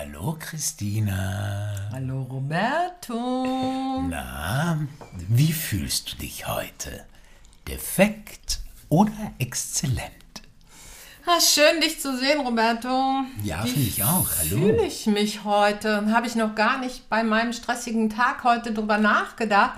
Hallo Christina. Hallo Roberto. Na, wie fühlst du dich heute? Defekt oder exzellent? Schön, dich zu sehen, Roberto. Ja, finde ich auch. Hallo. Wie fühle ich mich heute? Habe ich noch gar nicht bei meinem stressigen Tag heute drüber nachgedacht.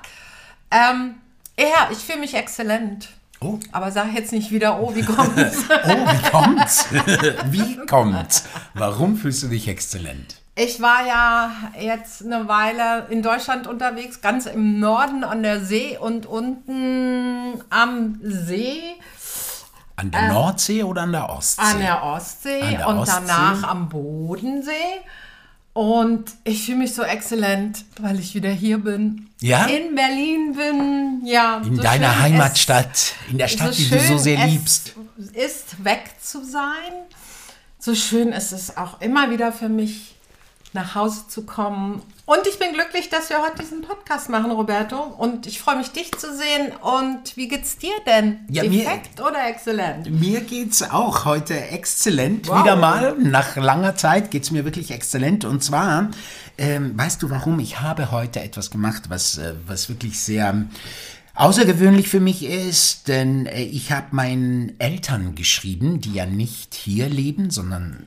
Ja, ich fühle mich exzellent. Oh. Aber sag jetzt nicht wieder, wie kommt's? Wie kommt's? Wie kommt's? Warum fühlst du dich exzellent? Ich war ja jetzt eine Weile in Deutschland unterwegs, ganz im Norden an der See und unten am See. An der Nordsee oder an der Ostsee? An der Ostsee und danach am Bodensee. Und ich fühle mich so exzellent, weil ich wieder hier bin. Ja? In Berlin bin. Ja, in so deiner Heimatstadt, in der Stadt, die du so sehr liebst. Es ist, weg zu sein. So schön ist es auch immer wieder für mich, nach Hause zu kommen. Und ich bin glücklich, dass wir heute diesen Podcast machen, Roberto. Und ich freue mich, dich zu sehen. Und wie geht's dir denn? Ja, Defekt oder exzellent? Mir geht's auch heute exzellent. Wow. Wieder mal, nach langer Zeit geht's mir wirklich exzellent. Und zwar, weißt du warum? Ich habe heute etwas gemacht, was wirklich sehr außergewöhnlich für mich ist, denn ich habe meinen Eltern geschrieben, die ja nicht hier leben, sondern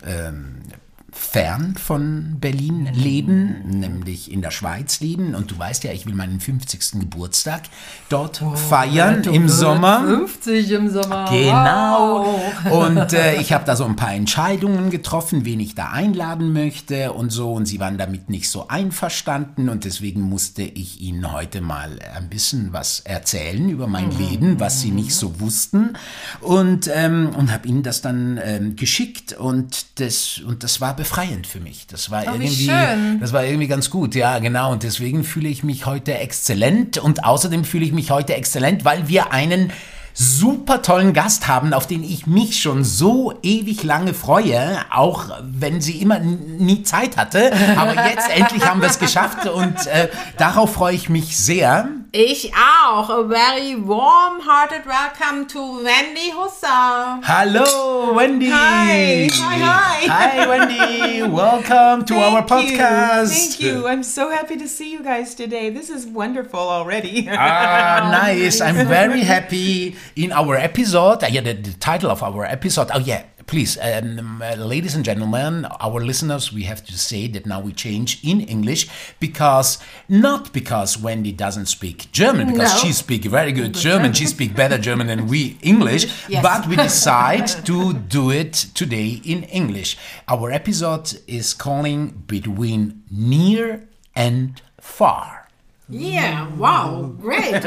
fern von Berlin leben, nämlich in der Schweiz leben. Und du weißt ja, ich will meinen 50. Geburtstag dort feiern im Sommer. 50 im Sommer. Genau. Wow. Und ich habe da so ein paar Entscheidungen getroffen, wen ich da einladen möchte und so. Und sie waren damit nicht so einverstanden. Und deswegen musste ich ihnen heute mal ein bisschen was erzählen über mein Leben, was sie nicht so wussten. Und habe ihnen das dann geschickt. Und das war befreiend für mich. Das war irgendwie ganz gut, ja, genau. Und deswegen fühle ich mich heute exzellent. Und außerdem fühle ich mich heute exzellent, weil wir einen super tollen Gast haben, auf den ich mich schon so ewig lange freue, auch wenn sie immer nie Zeit hatte. Aber jetzt endlich haben wir es geschafft und darauf freue ich mich sehr. Ich auch. A very warm-hearted welcome to Wendy Husser. Hallo, Wendy. Hi. Hi, Wendy. Welcome to our podcast. Thank you. I'm so happy to see you guys today. This is wonderful already. Nice. I'm very happy. In our episode, the title of our episode, please, ladies and gentlemen, our listeners, we have to say that now we change in English not because Wendy doesn't speak German, because she speaks very good German, she speaks better German than we English, yes. But we decide to do it today in English. Our episode is calling Between Near and Far. Yeah, wow, great.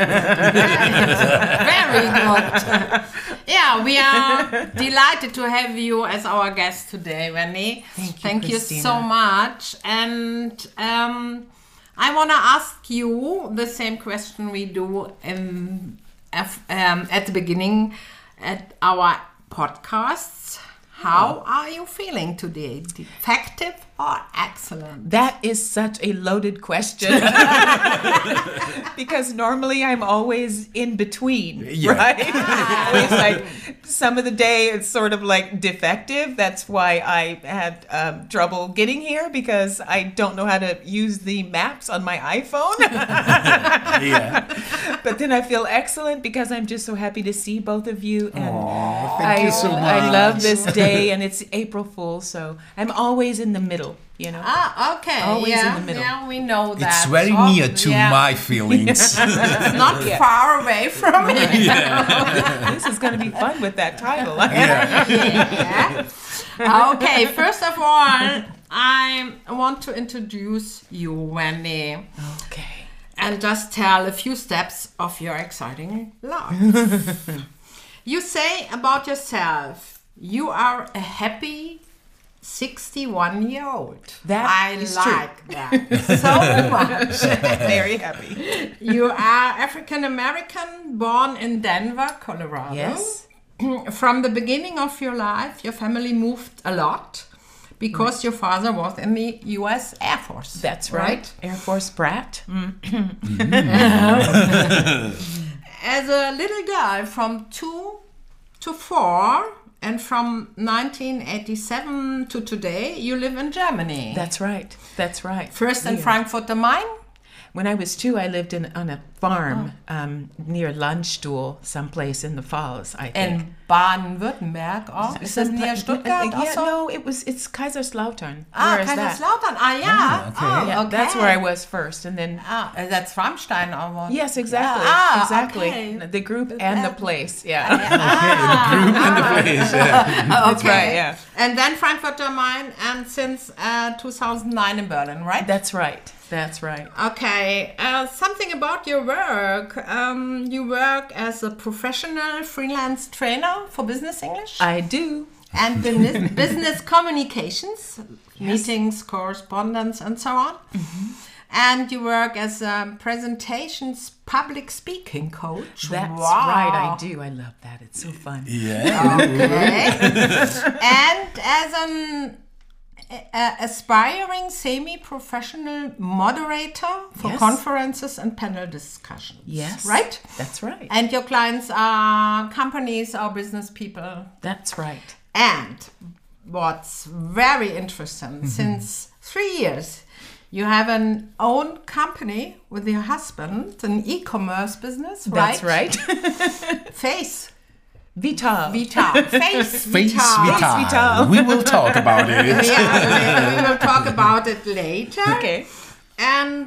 Very good. Yeah, we are delighted to have you as our guest today, Wendy. Thank you so much. And I want to ask you the same question we do at the beginning at our podcasts. How are you feeling today? Defective or excellent? That is such a loaded question. Because normally I'm always in between, right? Always like some of the day it's sort of like defective. That's why I had trouble getting here because I don't know how to use the maps on my iPhone. But then I feel excellent because I'm just so happy to see both of you. And thank you so much. I love this day and it's April Fool's, so I'm always in the middle. You know? Okay. Always in the middle. Yeah, we know that. It's very near to my feelings. It's not far away from me. This is going to be fun with that title. Okay, first of all, I want to introduce you, Wendy. Okay. And just tell a few steps of your exciting life. You say about yourself, you are a happy 61-year-old. That is like true. That so much. Very happy. You are African American, born in Denver, Colorado. Yes. From the beginning of your life, your family moved a lot because your father was in the U.S. Air Force. That's right. Air Force brat. As a little girl from 2 to 4, And from 1987 to today, you live in Germany. That's right. That's right. First in Yeah. Frankfurt am Main. When I was 2, I lived on a farm near Landstuhl, someplace in the Falls, I think. In Baden-Württemberg. Oh, is das near Stuttgart? Yeah, also? no, it's Kaiserslautern. Ah, Where is that? Kaiserslautern. Ah, yeah. okay. Oh, Yeah, okay. that's where I was first, and then That's Rammstein. Or yes, exactly, exactly. Okay. The group and the place. Yeah, Group in the place. Yeah. that's right. Yeah, And then Frankfurt am Main, and since 2009 in Berlin, right? that's right. That's right. Okay, something about your work. You work as a professional freelance trainer for business English I do. and business communications, meetings, correspondence, and so on. And you work as a presentations public speaking coach. That's Wow. right. I do. I love that. It's so fun. Yeah. Okay. And as an aspiring semi-professional moderator for Yes. conferences and panel discussions. Yes. Right? That's right. And your clients are companies or business people. That's right. And what's very interesting, since 3 years, you have an own company with your husband, an e-commerce business, right? That's right. Face Vital. Vital. Face Face Vital. Vital. Vital. We will talk about it. Yeah, we will talk about it later. Okay. And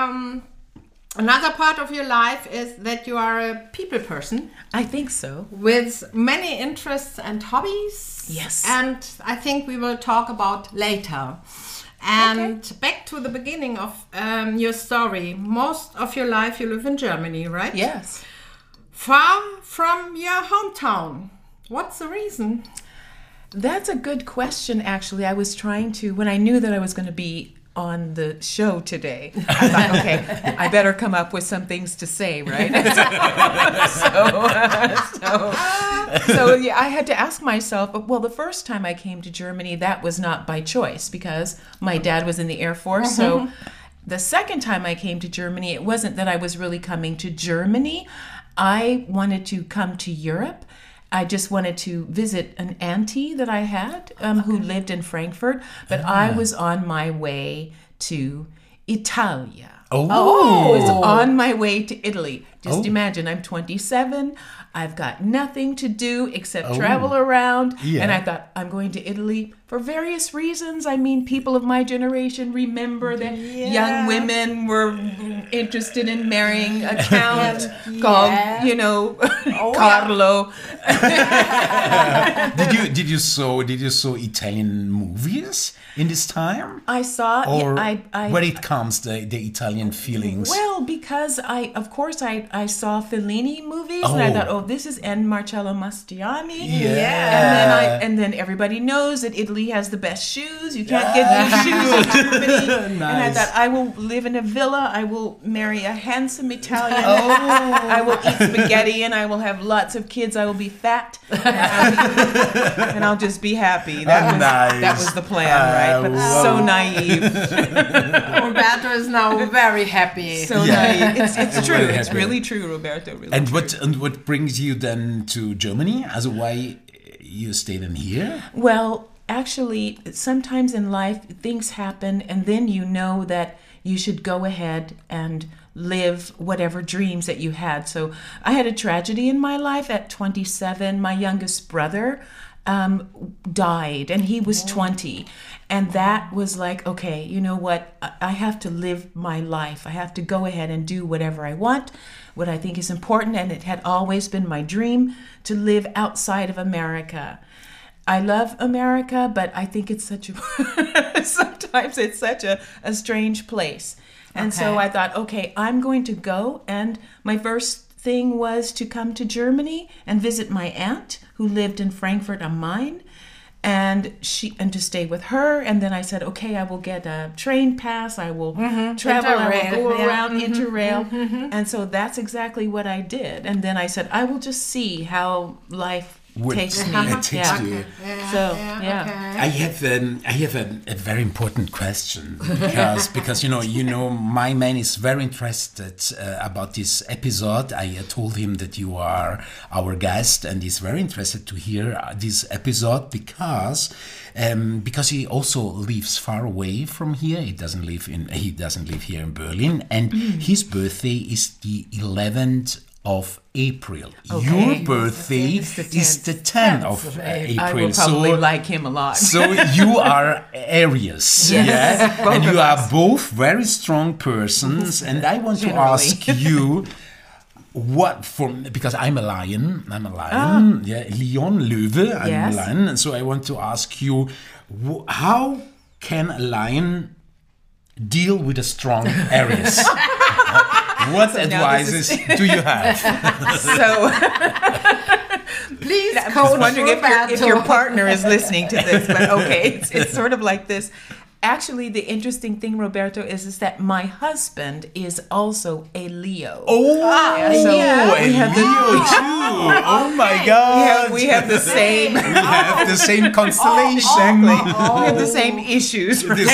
another part of your life is that you are a people person I think so. with many interests and hobbies. Yes. And I think we will talk about later. And back to the beginning of your story. Most of your life you live in Germany, right? Yes. Far from your hometown. What's the reason? That's a good question, actually. I was trying to, when I knew that I was going to be on the show today, I thought, okay, I better come up with some things to say, right? So yeah, I had to ask myself, well, the first time I came to Germany, that was not by choice because my dad was in the Air Force. So the second time I came to Germany, it wasn't that I was really coming to Germany. I wanted to come to Europe. I just wanted to visit an auntie that I had who lived in Frankfurt, but I was on my way to Italia. I was on my way to Italy. Just imagine, I'm 27. I've got nothing to do except travel around. Yeah. And I thought, I'm going to Italy for various reasons. I mean, people of my generation remember that young women were interested in marrying a count called, Carlo. Did you saw Italian movies in this time? I saw, Or I where it comes the Italian feelings? Well, because I saw Fellini movies and I thought, this is N. Marcello Mastroianni. Yeah. And then everybody knows that Italy has the best shoes. You can't get good shoes in Germany. Nice. And I thought, I will live in a villa. I will marry a handsome Italian. I will eat spaghetti and I will have lots of kids. I will be fat. And I'll just be happy. That was the plan, right? But so naive. Roberto is now very happy. So naive. It's true. Very It's happy. really true, Roberto. Really And true. what brings you then to Germany? Also, why you stayed in here? Well, actually, sometimes in life things happen, and then you know that you should go ahead and live whatever dreams that you had. So I had a tragedy in my life at 27. My youngest brother died, and he was 20. And that was like, okay, you know what? I have to live my life. I have to go ahead and do whatever I want, what I think is important. And it had always been my dream to live outside of America. I love America, but I think it's sometimes it's such a strange place. And so I thought, okay, I'm going to go. And my first thing was to come to Germany and visit my aunt who lived in Frankfurt am Main. And to stay with her. And then I said, okay, I will get a train pass. I will travel. I will go around Interrail. And so that's exactly what I did. And then I said, I will just see how life would Takes me. takes Yeah. you. So, I have a very important question because my man is very interested about this episode. I told him that you are our guest, and he's very interested to hear this episode because he also lives far away from here. He doesn't live here in Berlin, and his birthday is the 11th of April. Okay. Your birthday It's the is the 10th of April. I will probably like him a lot. So you are Aries, Yes, both and of you are us. both very strong persons. And I want to Generally. ask you, because I'm a lion, Leon, Löwe, I'm Yes. a lion, and so I want to ask you, how can a lion deal with a strong Aries? What advices do you have? So Please, I'm just Coach wondering if Roberto. your partner is listening to this, but okay, it's sort of like this. Actually, the interesting thing, Roberto, is that my husband is also a Leo. Oh, so a we have Leo too. Oh my God. We have the same. We have the same constellation. Exactly. We have the same issues. The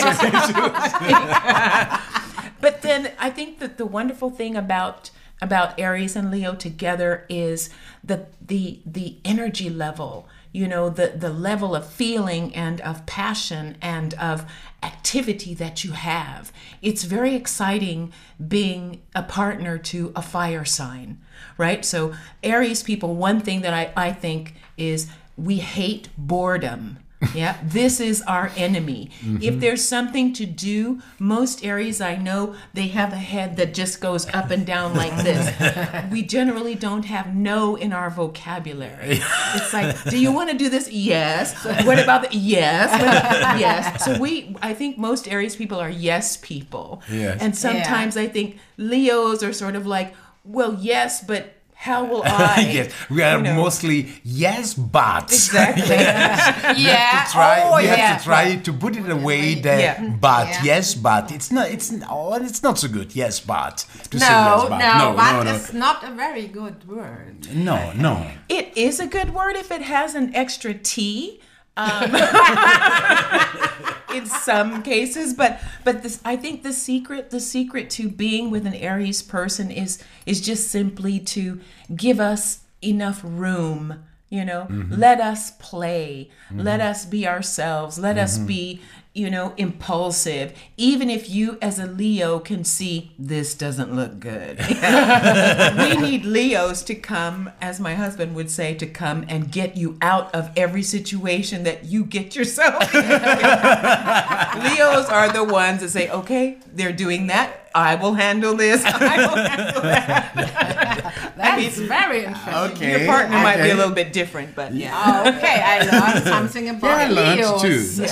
same- But then I think that the wonderful thing about Aries and Leo together is the energy level, the level of feeling and of passion and of activity that you have. It's very exciting being a partner to a fire sign, right? So Aries people, one thing that I think is we hate boredom. Yeah, this is our enemy. If there's something to do, most Aries I know, they have a head that just goes up and down like this. We generally don't have no in our vocabulary. It's like, do you want to do this? Yes. What about the yes? Yes. So I think most Aries people are yes people. Yes. And sometimes I think Leos are sort of like, well, yes, but how will I? Yes, we are mostly yes, but. Exactly. You have to try to put it away that Yeah. but Yeah. yes, but it's not so good. Yes, but. To say No, yes, but. but no. it's not a very good word. No. It is a good word if it has an extra T. In some cases, but this, I think the secret to being with an Aries person is just simply to give us enough room. Let us play, let us be ourselves, let us be impulsive, even if you as a Leo can see this doesn't look good. We need Leos to come, as my husband would say, to come and get you out of every situation that you get yourself in. Leos are the ones that say, okay, they're doing that, I will handle this, I will handle that. That's very interesting. Okay. Your partner might be a little bit different, but yeah. Okay, I learned something about I learned Leos. too.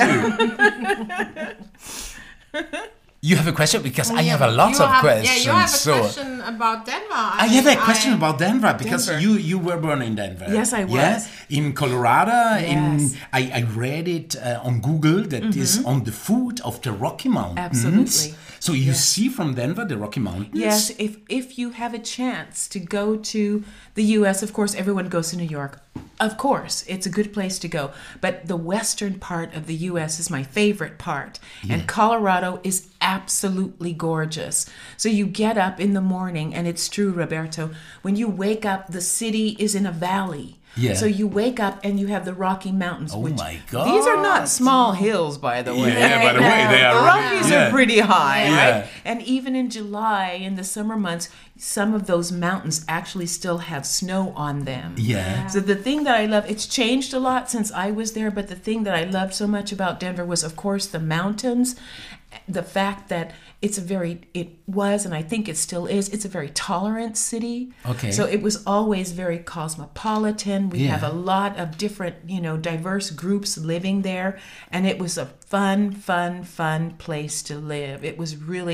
You have a question? Because I have a lot of questions. Yeah, you have a so question about Denver. I have a question about Denver because Denver. you were born in Denver. Yes, I was. Yeah? In Colorado. Yes. I read it on Google that is on the foot of the Rocky Mountains. Absolutely. So you see from Denver the Rocky Mountains? Yes, if you have a chance to go to the U.S., of course, everyone goes to New York. Of course, it's a good place to go. But the western part of the U.S. is my favorite part. And Colorado is absolutely gorgeous. So you get up in the morning, and it's true, Roberto, when you wake up, the city is in a valley. Yeah. So you wake up and you have the Rocky Mountains. Oh which, my God. These are not small hills, by the way. Yeah, by the way, they The are Rockies are pretty high, Yeah. right? And even in July, in the summer months, some of those mountains actually still have snow on them. Yeah. So the thing that I love, it's changed a lot since I was there, but the thing that I loved so much about Denver was, of course, the mountains, the fact that it was, and I think it still is, it's a very tolerant city. Okay. So it was always very cosmopolitan. We have a lot of different, diverse groups living there. And it was a fun place to live. It was really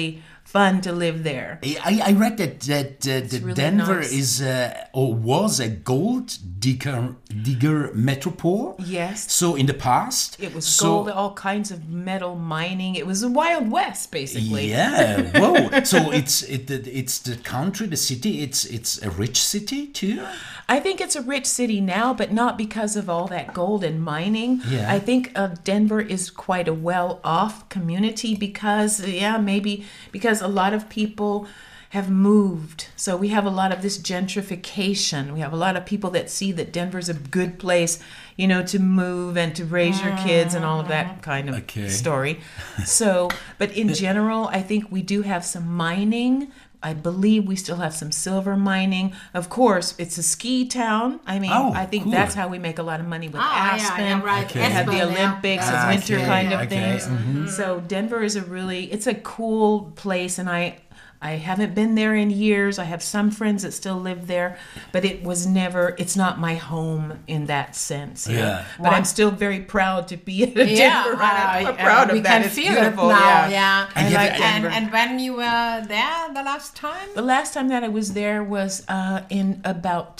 fun to live there. I read that really Denver nice. is or was a gold digger metropole. Yes. So in the past, It was gold, all kinds of metal mining. It was the Wild West, basically. Yeah. Whoa. So it's the country, the city. It's a rich city too. I think it's a rich city now, but not because of all that gold and mining. Yeah. I think Denver is quite a well-off community because a lot of people have moved. So we have a lot of this gentrification. We have a lot of people that see that Denver's a good place, to move and to raise your kids and all of that kind of story. So, but in general, I think we do have some mining. I believe we still have some silver mining. Of course, it's a ski town. I mean, I think cool. that's how we make a lot of money with Aspen. Yeah, right. Okay. We have the Aspen, yeah. Olympics and winter kind of okay. things. Mm-hmm. So Denver is it's a cool place, and I haven't been there in years. I have some friends that still live there, but it's not my home in that sense. Yeah. But I'm still very proud to be in Denver. I'm proud of we that. can It's feel beautiful. it now. Yeah. Yeah. And like and, Denver. and when you were there the last time? The last time that I was there was in about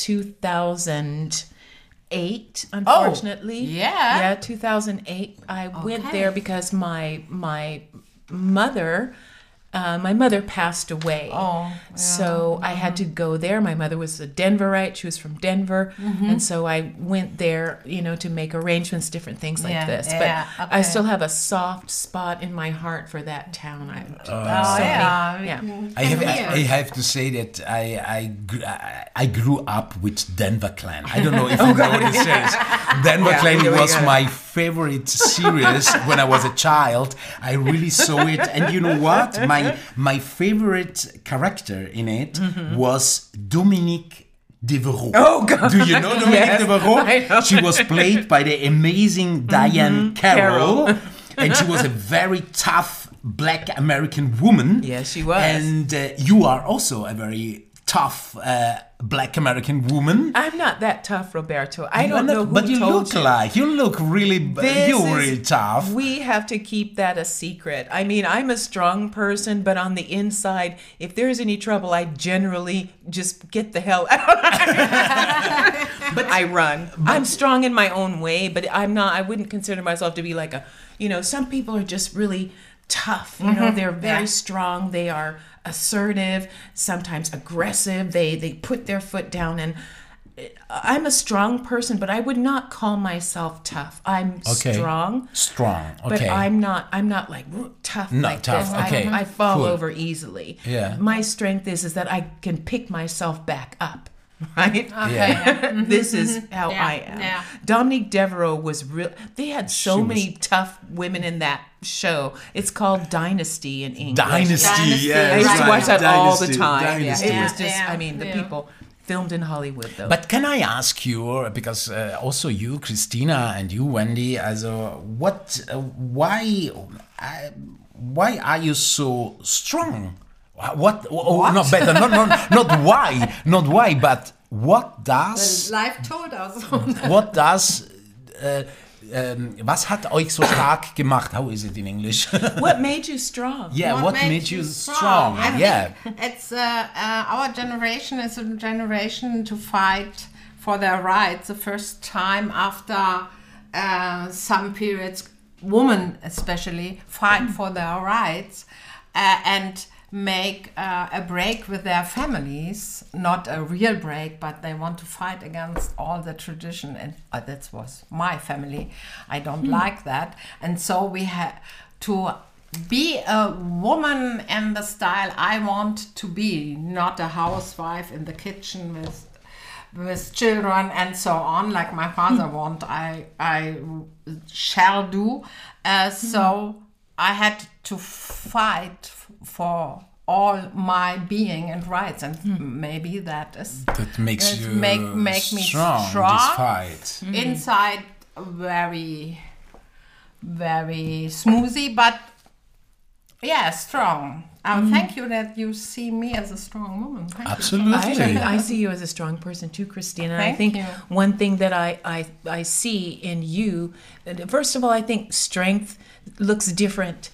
2008, unfortunately. yeah. Yeah, 2008. I went there because my mother passed away. So I had to go there. My mother was a Denverite. She was from Denver. And so I went there, to make arrangements, different things like this. But I still have a soft spot in my heart for that town. I have to say that I grew up with Denver Clan. I don't know if you know what this is. Denver Clan was my favorite series when I was a child. I really saw it, and you know what? My favorite character in it was Dominique Devereaux. Oh, God. Do you know Dominique Yes, Devereaux? I know. She was played by the amazing Diane Carroll. And she was a very tough Black American woman. Yes, she was. And you are also a very tough Black American woman. I'm not that tough, Roberto. I don't know who but you told look you look really you're really tough. We have to keep that a secret. I mean, I'm a strong person, but on the inside, if there's any trouble, I generally just get the hell out. But I run. I'm strong in my own way, but I wouldn't consider myself to be like some people are just really tough. They're very strong. They are assertive, sometimes aggressive. They put their foot down, and I'm a strong person, but I would not call myself tough. I'm strong. Strong. Okay. But I'm not like tough like tough. this. Okay. I fall Cool. over easily. Yeah. My strength is that I can pick myself back up. Right? Yeah. This is how I am. Yeah. Dominique Devereaux was real. They had so many tough women in that show. It's called Dynasty in English. Dynasty. Yeah, I used to right. watch that all the Dynasty, time. Dynasty. Yeah, it was just, Yeah. the people filmed in Hollywood, though. But can I ask you, because also you, Christina, and you, Wendy, why are you so strong? What? Not better. Not why, but what does? Life told us. What does? Was hat euch so stark gemacht? How is it in English? What made you strong? Yeah, what made you strong? I Yeah. think it's our generation is a generation to fight for their rights. The first time after some periods, women especially fight for their rights and make a break with their families, not a real break, but they want to fight against all the tradition, and that was my family. I don't like that, and so we had to be a woman in the style I want to be, not a housewife in the kitchen with children and so on, like my father want. I shall do. So I had to fight for all my being and rights, and maybe that makes you make me strong. This fight. Inside, very, very smoothie, but yeah, strong. Thank you that you see me as a strong woman. Thank you. Absolutely. I see you as a strong person too, Christina. Thank I think you. one thing that I see in you, first of all, I think strength looks different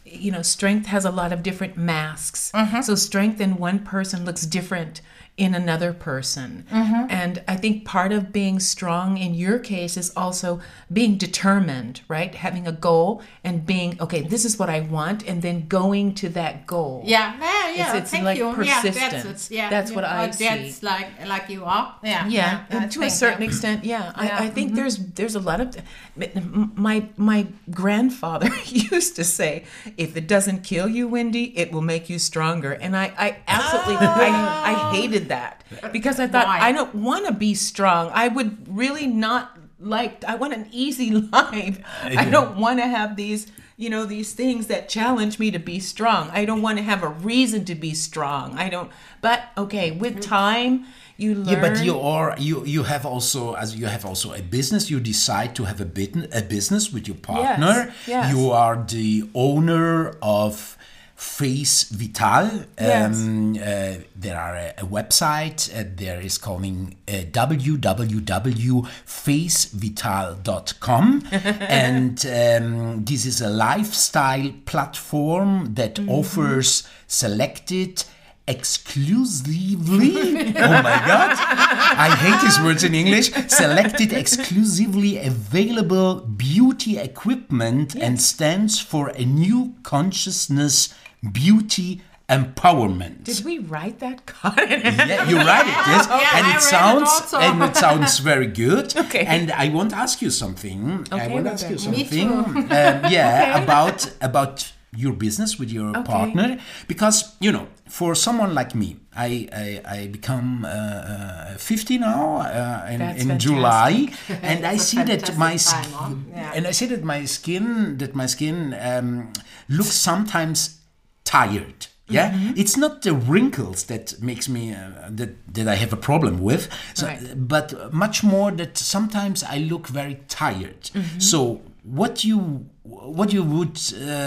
strength has a lot of different masks. So strength in one person looks different in another person. And I think part of being strong in your case is also being determined, right? Having a goal and being, okay, this is what I want, and then going to that goal. Yeah. It's Thank like you. persistence. That's what I see. That's like you are. Yeah, and to a certain extent, I think there's a lot of my grandfather used to say, if it doesn't kill you, Wendy, it will make you stronger. And I absolutely I hated that, because I thought, Why? I don't want to be strong. I would really not I want an easy life. I don't want to have these things that challenge me to be strong. I don't want to have a reason to be strong. But okay, with time you learn. Yeah, but you have also a business. You decide to have a business with your partner. Yes. You are the owner of Face Vital. Yes. There are a website. There is calling www.facevital.com, and this is a lifestyle platform that offers selected exclusively, oh my God, I hate these words in English, selected exclusively available beauty equipment, and stands for a new consciousness beauty empowerment. Did we write that? Yeah, you write it, yes, and it sounds very good. Okay. And I want to ask you something. Me too. About your business with your partner, because for someone like me, I become 50 now in July, and I see that my skin looks sometimes tired. Yeah, it's not the wrinkles that makes me that I have a problem with, but much more that sometimes I look very tired. So what you would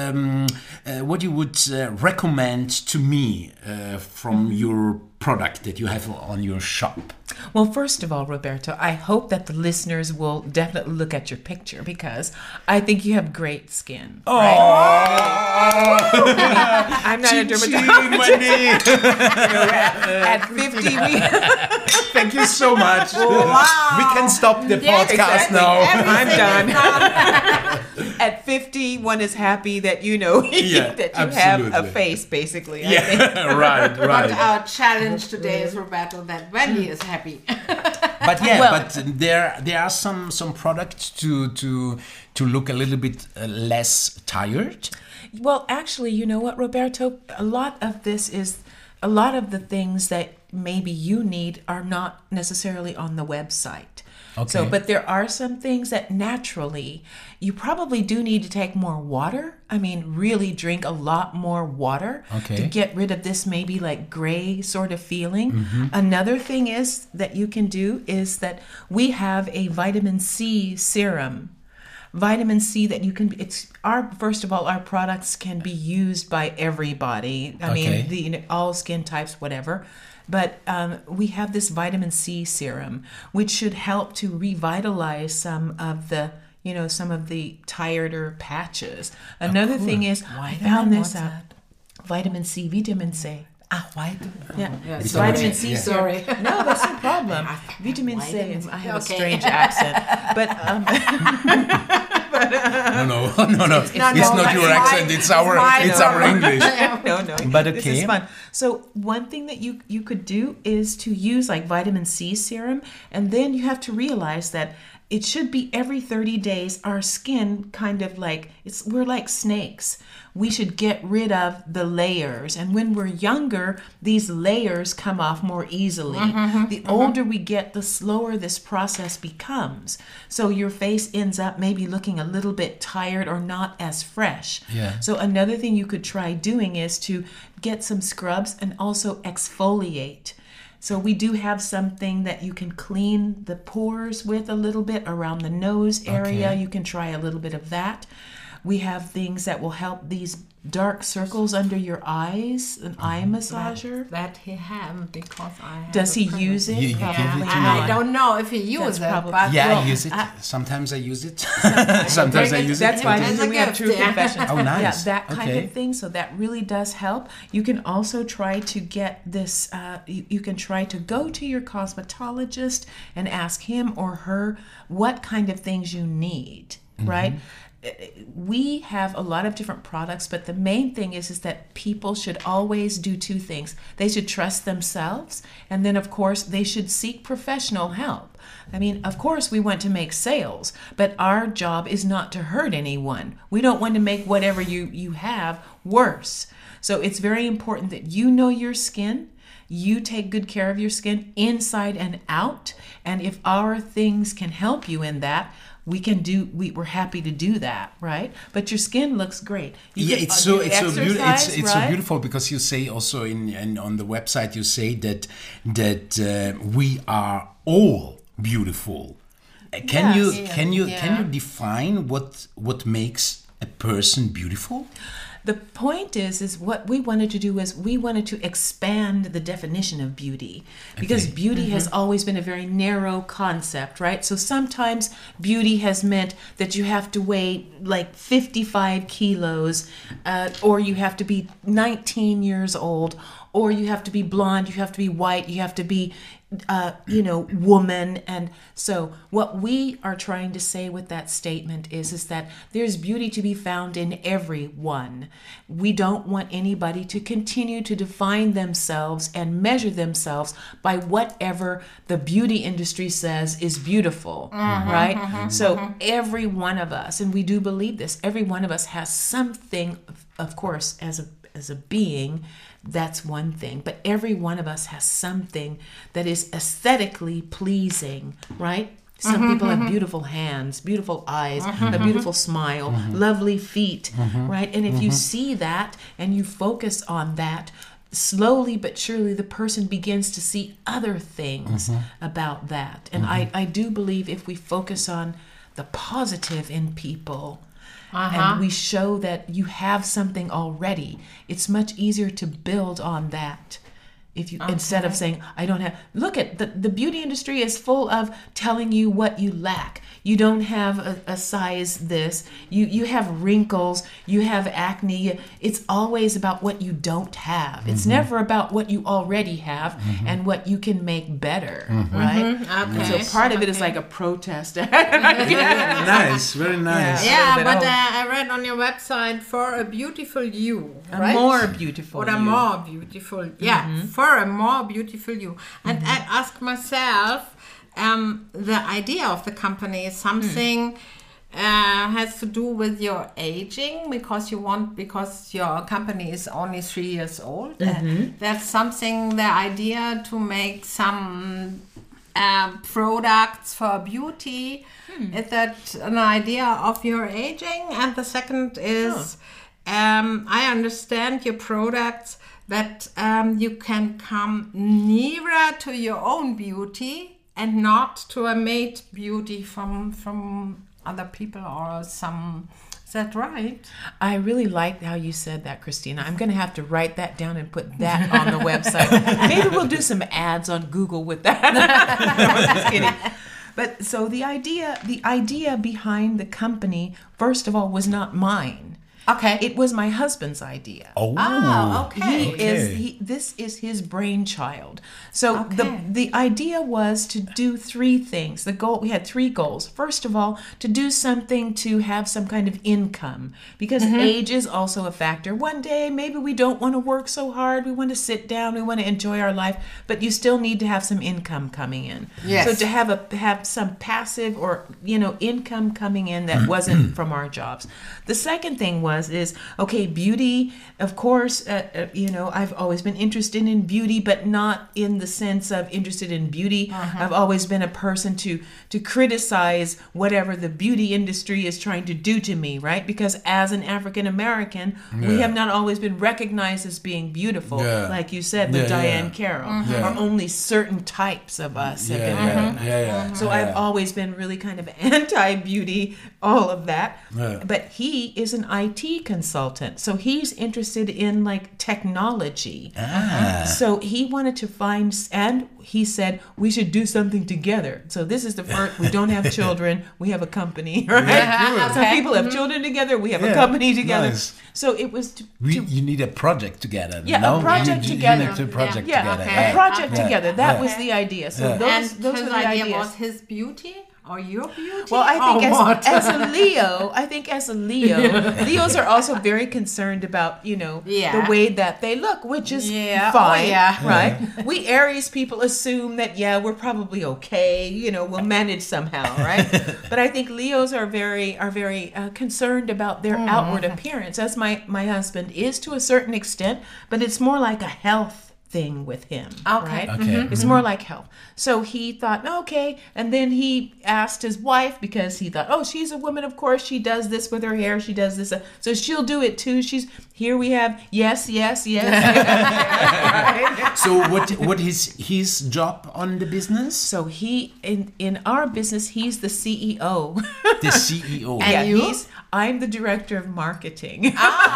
recommend to me from your product that you have on your shop? Well, first of all, Roberto, I hope that the listeners will definitely look at your picture, because I think you have great skin. Oh, right? I'm not a dermatologist. At 50, thank you so much. Wow. We can stop the podcast now. I'm done. At 50, one is happy that that you have a face, basically. I think. Right. But our challenge today is, Roberto, that Wendy is happy. But there are some products to look a little bit less tired. Well, actually, you know what, Roberto? A lot of the things that maybe you need are not necessarily on the website. Okay. So, but there are some things that naturally you probably do need to take more water. I mean, really drink a lot more water to get rid of this maybe like gray sort of feeling. Another thing is that you can do is that we have a vitamin C serum. Vitamin C that you can, first of all, our products can be used by everybody. I mean, all skin types, whatever. But we have this vitamin C serum, which should help to revitalize some of the tireder patches. Another thing is, I found this out. Vitamin C. White. Yeah. It's vitamin C. Sorry. No, that's no problem. Vitamin C. I have a strange accent, but No. It's not your accent. It's our English. No. But okay. This is fun. So one thing that you could do is to use like vitamin C serum, and then you have to realize that it should be every 30 days. Our skin kind of we're like snakes. We should get rid of the layers. And when we're younger, these layers come off more easily. The older we get, the slower this process becomes. So your face ends up maybe looking a little bit tired or not as fresh. Yeah. So another thing you could try doing is to get some scrubs and also exfoliate. So we do have something that you can clean the pores with a little bit around the nose area. You can try a little bit of that. We have things that will help these dark circles under your eyes, an eye massager. That he have because I have Does he a use it? You give it Probably to not. I don't know if he uses it, probably- but Yeah, Well, I use it. Sometimes I use it. Sometimes I use it. That's why As a we have gift, true yeah. confessions. Oh, nice. Yeah, that kind Okay. of thing. So that really does help. You can also try to get this. You can try to go to your cosmetologist and ask him or her what kind of things you need. Right. We have a lot of different products, but the main thing is that people should always do two things. They should trust themselves, and then of course they should seek professional help. I mean, of course we want to make sales, but our job is not to hurt anyone. We don't want to make whatever you have worse. So it's very important that you know your skin. You take good care of your skin inside and out. And if our things can help you in that, we're happy to do that, right? But your skin looks great. You can It's do so exercise, it's so right? beautiful because you say also in on the website you say that we are all beautiful. Can you define what makes a person beautiful? The point is what we wanted to do is we wanted to expand the definition of beauty, because Okay. beauty has always been a very narrow concept, right? So sometimes beauty has meant that you have to weigh like 55 kilos, or you have to be 19 years old, or you have to be blonde, you have to be white, you have to be woman. And so what we are trying to say with that statement is that there's beauty to be found in everyone. We don't want anybody to continue to define themselves and measure themselves by whatever the beauty industry says is beautiful, right? So every one of us, and we do believe this, every one of us has something, of course, as a being, that's one thing. But every one of us has something that is aesthetically pleasing, right? Some people have beautiful hands, beautiful eyes, a beautiful smile, lovely feet, right? And if you see that and you focus on that, slowly but surely the person begins to see other things about that. And I do believe if we focus on the positive in people, and we show that you have something already, it's much easier to build on that. If you instead of saying I don't have, look at the beauty industry is full of telling you what you lack. You don't have a size this. You have wrinkles. You have acne. It's always about what you don't have. It's never about what you already have and what you can make better, right? Okay. So part of it is like a protest. Nice, very nice. Yeah, bit but old. I read on your website for a beautiful you, A right? more beautiful Or a you. more beautiful, yeah, for a more beautiful you. And I ask myself, the idea of the company is something has to do with your aging because your company is only 3 years old. That's something, the idea to make some products for beauty. Is that an idea of your aging? And the second is, I understand your products that you can come nearer to your own beauty and not to a made beauty from other people or some. Is that right? I really like how you said that, Christina. I'm going to have to write that down and put that on the website. Maybe we'll do some ads on Google with that. I'm just kidding. But so the idea behind the company, first of all, was not mine. Okay. It was my husband's idea. Oh, okay. This is his brainchild. So Okay. the idea was to do three things. We had three goals. First of all, to do something to have some kind of income, because age is also a factor. One day, maybe we don't want to work so hard. We want to sit down. We want to enjoy our life, but you still need to have some income coming in. Yes. So to have some passive or income coming in that wasn't from our jobs. The second thing is, okay, beauty, of course, I've always been interested in beauty, but not in the sense of interested in beauty. I've always been a person to criticize whatever the beauty industry is trying to do to me, right? Because as an African American, we have not always been recognized as being beautiful, like you said with Diane Carroll, or only certain types of us have been. So I've always been really kind of anti-beauty, all of that. But he is an IT consultant, so he's interested in like technology. So he wanted to find, and he said we should do something together. So this is the first. We don't have children. We have a company, right? Some people have children together. We have a company together. Nice. So it was you need a project together. Yeah, no? a project together. You need a project yeah, together. a project together. That was the idea. So those His are the idea ideas. was his beauty or your beauty? Well, I think or what? as a Leo, Leos are also very concerned about, the way that they look, which is fine, right? We Aries people assume that, we're probably okay, we'll manage somehow, right? But I think Leos are very concerned about their outward appearance, as my husband is to a certain extent, but it's more like a health thing with him, right? It's more like health. So he thought, okay, and then he asked his wife, because he thought, she's a woman, of course, she does this with her hair, she does this, so she'll do it too. Here we have yes. Right? So what is his job on the business? So he in our business, he's the CEO. The CEO. And you? I'm the director of marketing.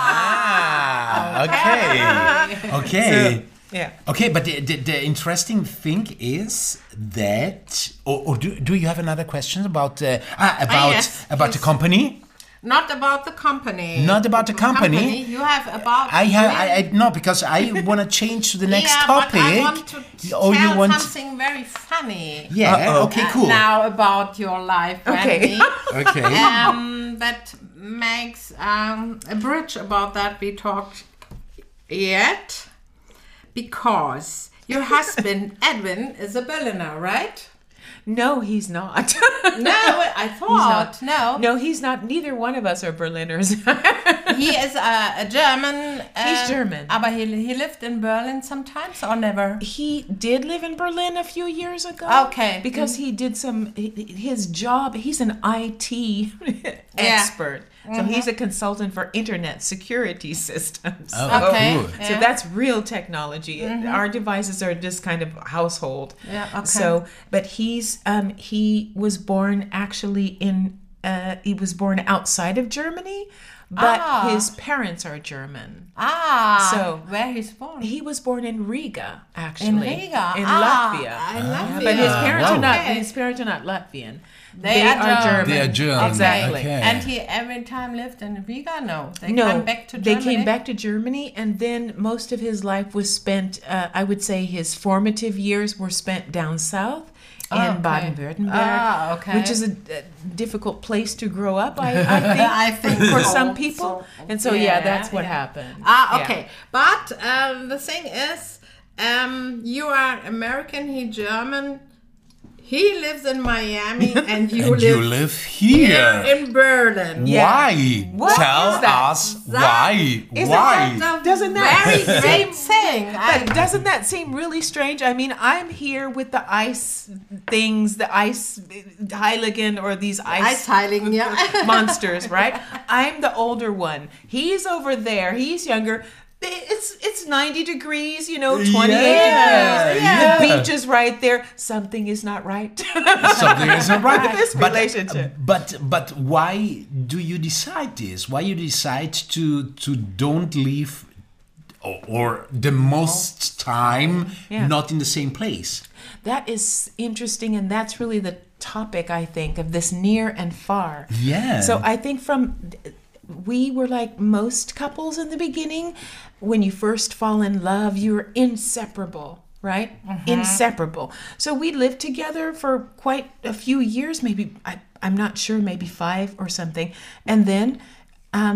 Okay. Yeah. Okay, but the interesting thing is that, or do you have another question about yes, about the company? Not about the company. Not about the company. You have about. I no, because I want to change to the next topic. But I want to tell something very funny. Yeah. Okay. Cool. Now about your life, Okay. Okay. That makes a bridge about that we talked yet. Because your husband, Edwin, is a Berliner, right? No, he's not. No, I thought. No, he's not. Neither one of us are Berliners. He is a German. He's German. But he lived in Berlin sometimes or never? He did live in Berlin a few years ago. Okay. Because he did his job, he's an IT expert. So he's a consultant for internet security systems. Okay. Cool. So that's real technology. Our devices are just kind of household. Yeah, okay. So, but he was born actually he was born outside of Germany, but his parents are German. So where he's born? He was born in Riga, actually. In Riga? In Latvia. In Latvia. But his parents are not. Okay. His parents are not Latvian. They are German. They are German. Exactly. Okay. And he every time lived in Riga? No. They No, came back to they Germany? came back to Germany, and then most of his life was spent, I would say his formative years were spent down south in Baden-Württemberg, which is a difficult place to grow up, I think for some people. And so, that's what happened. Okay. But the thing is, you are American, he German. He lives in Miami and you live here. in Berlin. Why? What Tell is that? us why. Doesn't that very great thing? But doesn't that seem really strange? I mean, I'm here with the ice things, the ice Heiligen or these ice Heiligen, monsters, right? I'm the older one. He's over there. He's younger. It's 90 degrees, 28 degrees. The beach is right there. Something is not right. Something is not right. This relationship. But why do you decide this? Why you decide to don't leave or the most time not in the same place? That is interesting, and that's really the topic, I think, of this near and far. Yeah. So I think we were like most couples in the beginning. When you first fall in love, you're inseparable, right? Inseparable. So we lived together for quite a few years, maybe, I'm not sure, maybe 5 or something. And then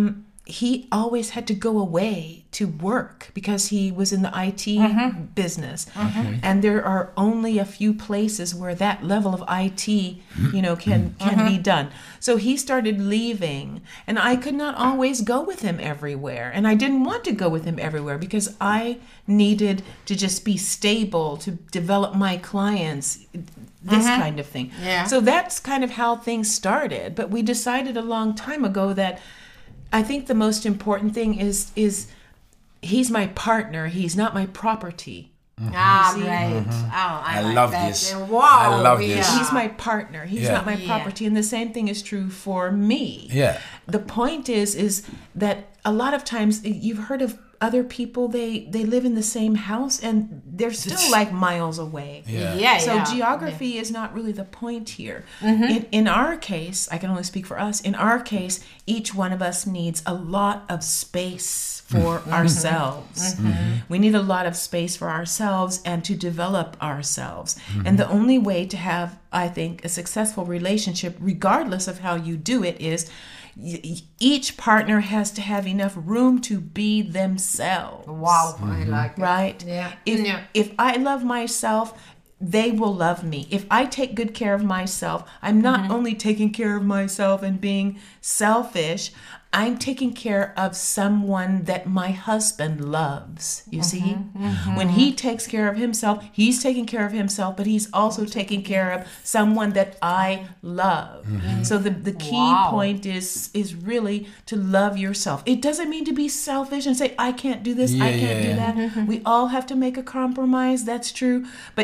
he always had to go away to work because he was in the IT business. And there are only a few places where that level of IT, can be done. So he started leaving, and I could not always go with him everywhere. And I didn't want to go with him everywhere because I needed to just be stable, to develop my clients, this kind of thing. Yeah. So that's kind of how things started. But we decided a long time ago that I think the most important thing is he's my partner. He's not my property. Ah, see? right. Oh, I like love that. this. Wow. I love this. He's my partner. He's not my property. And the same thing is true for me. Yeah. The point is that a lot of times you've heard of other people, they live in the same house and they're still like miles away. So geography is not really the point here. In our case, I can only speak for us, in our case, each one of us needs a lot of space for ourselves. We need a lot of space for ourselves and to develop ourselves. And the only way to have, I think, a successful relationship, regardless of how you do it, is each partner has to have enough room to be themselves. Wow, I like it. Right? Yeah. If I love myself, they will love me. If I take good care of myself, I'm not only taking care of myself and being selfish, I'm taking care of someone that my husband loves. You see? When he takes care of himself, he's taking care of himself, but he's also taking care of someone that I love. So the key point is really to love yourself. It doesn't mean to be selfish and say, I can't do this, I can't do that. We all have to make a compromise, that's true. But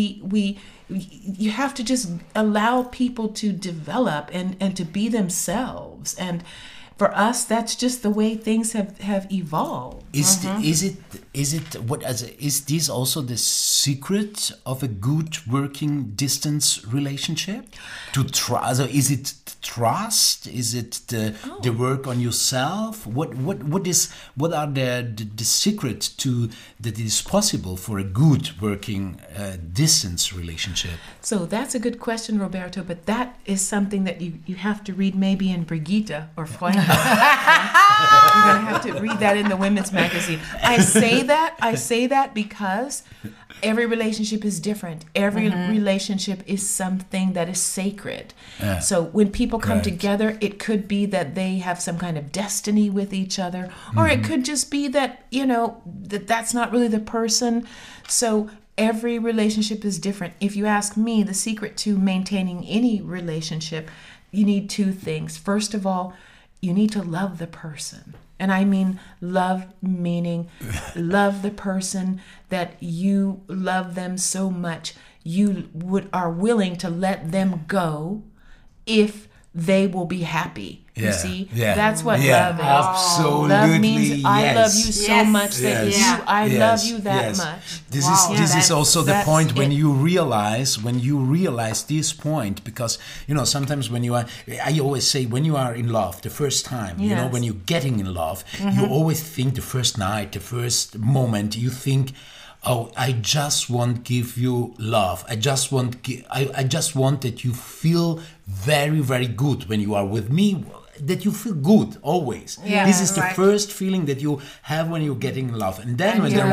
you have to just allow people to develop and to be themselves. And for us, that's just the way things have evolved. Is this also the secret of a good working distance relationship? To trust? So is it trust? Is it the work on yourself? What are the secret to that it is possible for a good working distance relationship? So that's a good question, Roberto. But that is something that you have to read maybe in Brigitte or Freunde. You're going to have to read that in the women's magazine. I say that because every relationship is different. Every relationship is something that is sacred. So when people come together, it could be that they have some kind of destiny with each other, or it could just be that, that's not really the person. So every relationship is different. If you ask me, the secret to maintaining any relationship, you need two things. First of all, you need to love the person. And I mean love, meaning love the person that you love them so much you are willing to let them go if they will be happy. You see? That's what love is. Absolutely. Love means I love you so much that I love you that much. This is also the point when you realize this point, because sometimes I always say when you are in love the first time, when you're getting in love, you always think the first night, the first moment, you think, oh, I just want to give you love. I just want that you feel very, very good when you are with me. That you feel good always. Yeah, this is the first feeling that you have when you're getting in love, and then when the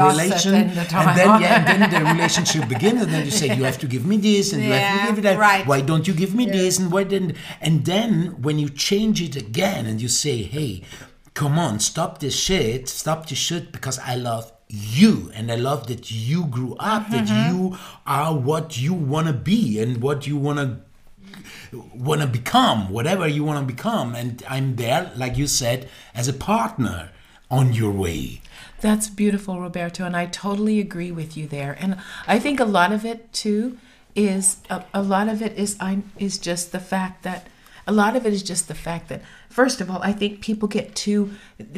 relationship begins, and then you say you have to give me this, and you have to give me that. Right. Why don't you give me this? And why didn't? And then when you change it again, and you say, hey, come on, stop this shit, because I love you, and I love that you grew up, that you are what you want to be and what you want to become, whatever you want to become, and I'm there, like you said, as a partner on your way. That's beautiful, Roberto, and I totally agree with you there. And I think a lot of it too is just the fact that first of all, I think people get too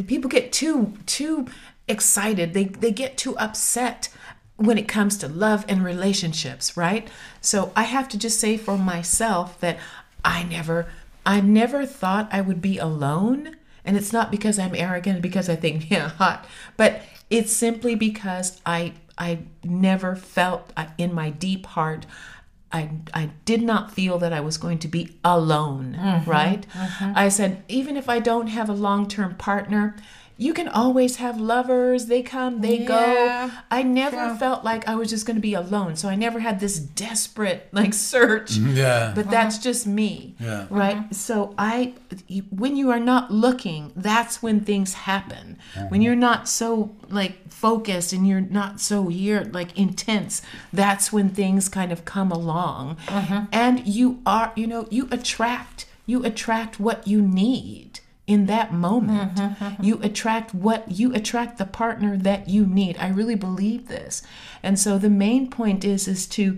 excited. They get too upset when it comes to love and relationships, right? So I have to just say for myself that I never thought I would be alone. And it's not because I'm arrogant, because I think, hot, but it's simply because I never felt in my deep heart I did not feel that I was going to be alone, right? I said, even if I don't have a long-term partner, you can always have lovers. They come, they go. I never felt like I was just going to be alone. So I never had this desperate search. Yeah. But that's just me, right? So when you are not looking, that's when things happen. When you're not so focused and you're not so intense, that's when things kind of come along. And you are, you attract what you need. In that moment, you attract the partner that you need. I really believe this. And so the main point is to,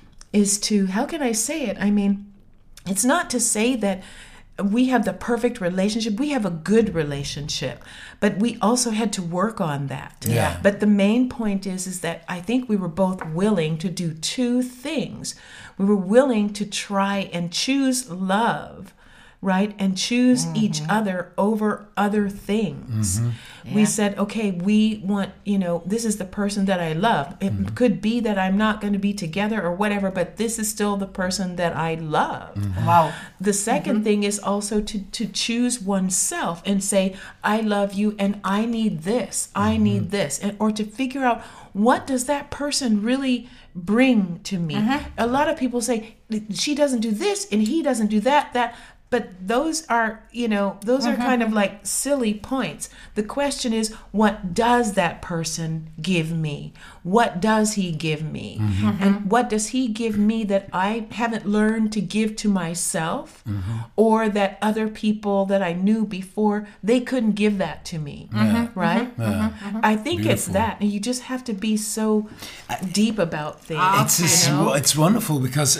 how can I say it? I mean, it's not to say that we have the perfect relationship. We have a good relationship, but we also had to work on that. Yeah. But the main point is that I think we were both willing to do two things. We were willing to try and choose love, right? And choose each other over other things. We said, okay, we want, this is the person that I love. It could be that I'm not going to be together or whatever, but this is still the person that I love. Wow. The second thing is also to choose oneself and say, I love you and I need this. I need this. Or to figure out, what does that person really bring to me? A lot of people say, she doesn't do this and he doesn't do that. But those are, are kind of like silly points. The question is, what does that person give me? What does he give me? And what does he give me that I haven't learned to give to myself, or that other people that I knew before, they couldn't give that to me, right? I think it's that. And you just have to be so deep about things. It's wonderful because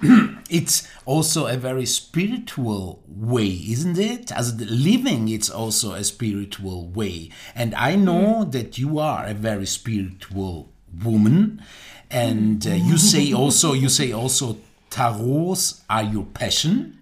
it's also a very spiritual way, isn't it? As living, it's also a spiritual way. And I know that you are a very spiritual woman. And you say also tarots are your passion.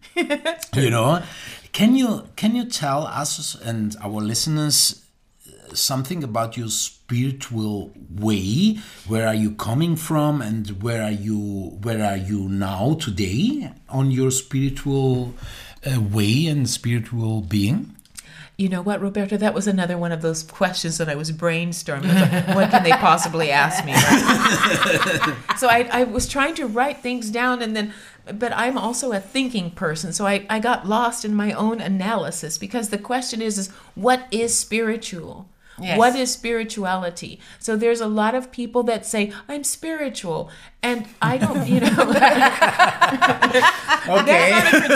Can you tell us and our listeners something about your spiritual way? Where are you coming from, and where are you now today on your spiritual way and spiritual being? You know what, Roberto? That was another one of those questions that I was brainstorming. I was like, what can they possibly ask me? Right? So I was trying to write things down, but I'm also a thinking person. So I got lost in my own analysis, because the question is what is spiritual? Yes. What is spirituality? So there's a lot of people that say, I'm spiritual. And I don't, Okay.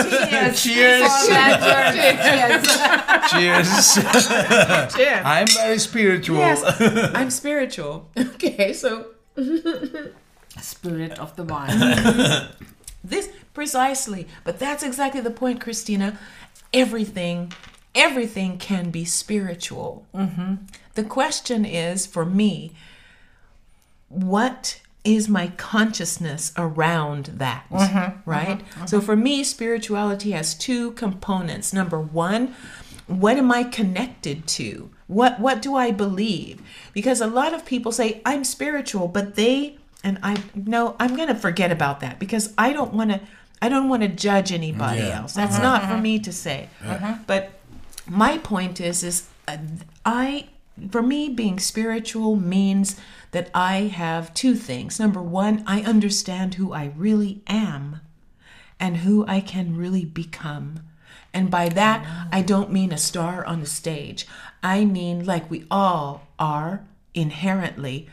Cheers. Cheers. I'm very spiritual. Yes, I'm spiritual. Okay, so. Spirit of the wine. This, precisely. But that's exactly the point, Christina. Everything can be spiritual. The question is, for me, what is my consciousness around that, right? So for me, spirituality has two components. Number one, what am I connected to? What do I believe? Because a lot of people say, I'm spiritual, but I'm going to forget about that, because I don't want to judge anybody else. That's not for me to say. But my point is for me, being spiritual means that I have two things. Number one, I understand who I really am and who I can really become. And by that, I don't mean a star on the stage. I mean, like we all are inherently,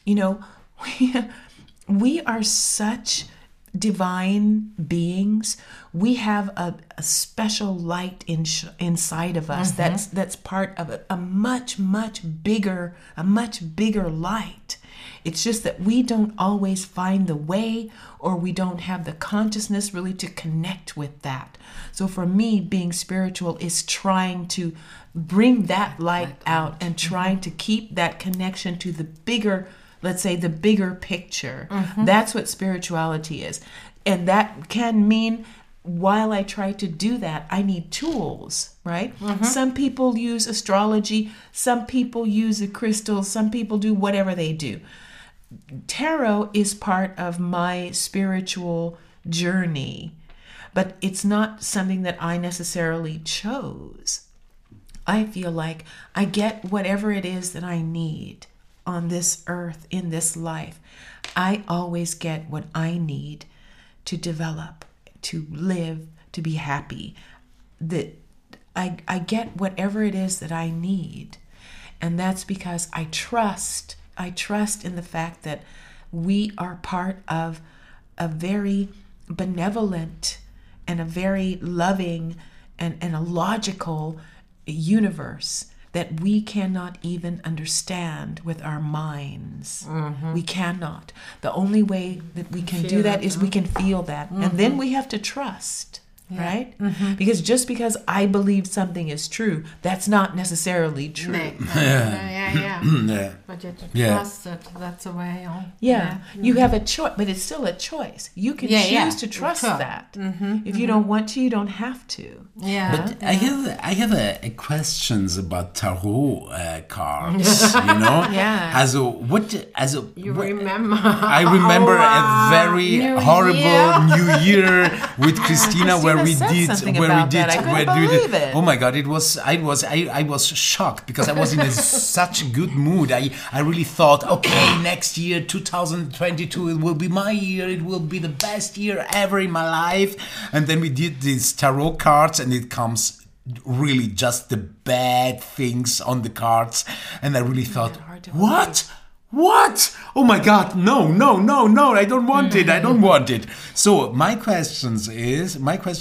we are such divine beings. We have a special light inside of us that's part of a much bigger light. It's just that we don't always find the way, or we don't have the consciousness really to connect with that. So for me, being spiritual is trying to bring that light out and trying to keep that connection to the bigger, let's say, the bigger picture. That's what spirituality is. And that can mean, while I try to do that, I need tools, right? Some people use astrology, some people use a crystal, some people do whatever they do. tarot is part of my spiritual journey, but it's not something that I necessarily chose. I feel like I get whatever it is that I need on this earth, in this life. I always get what I need to develop, to live, to be happy. That I get whatever it is that I need. And that's because I trust in the fact that we are part of a very benevolent and a very loving and a logical universe that we cannot even understand with our minds. We cannot. The only way that we can do that is we can feel that. And then we have to trust. Right? Because just because I believe something is true, that's not necessarily true. Yeah. But you trust it. That's a way. You have a choice, but it's still a choice. You can choose to trust that. If you don't want to, you don't have to. But I have a questions about tarot cards. You know. You remember? I remember a very horrible New Year with Christina where we did. Oh my God! I was shocked because I was in such a good mood. I really thought, okay, next year, 2022, it will be my year. It will be the best year ever in my life. And then we did these tarot cards, and it comes really just the bad things on the cards. And I really thought, what? Oh my God, no, I don't want it. So my question is,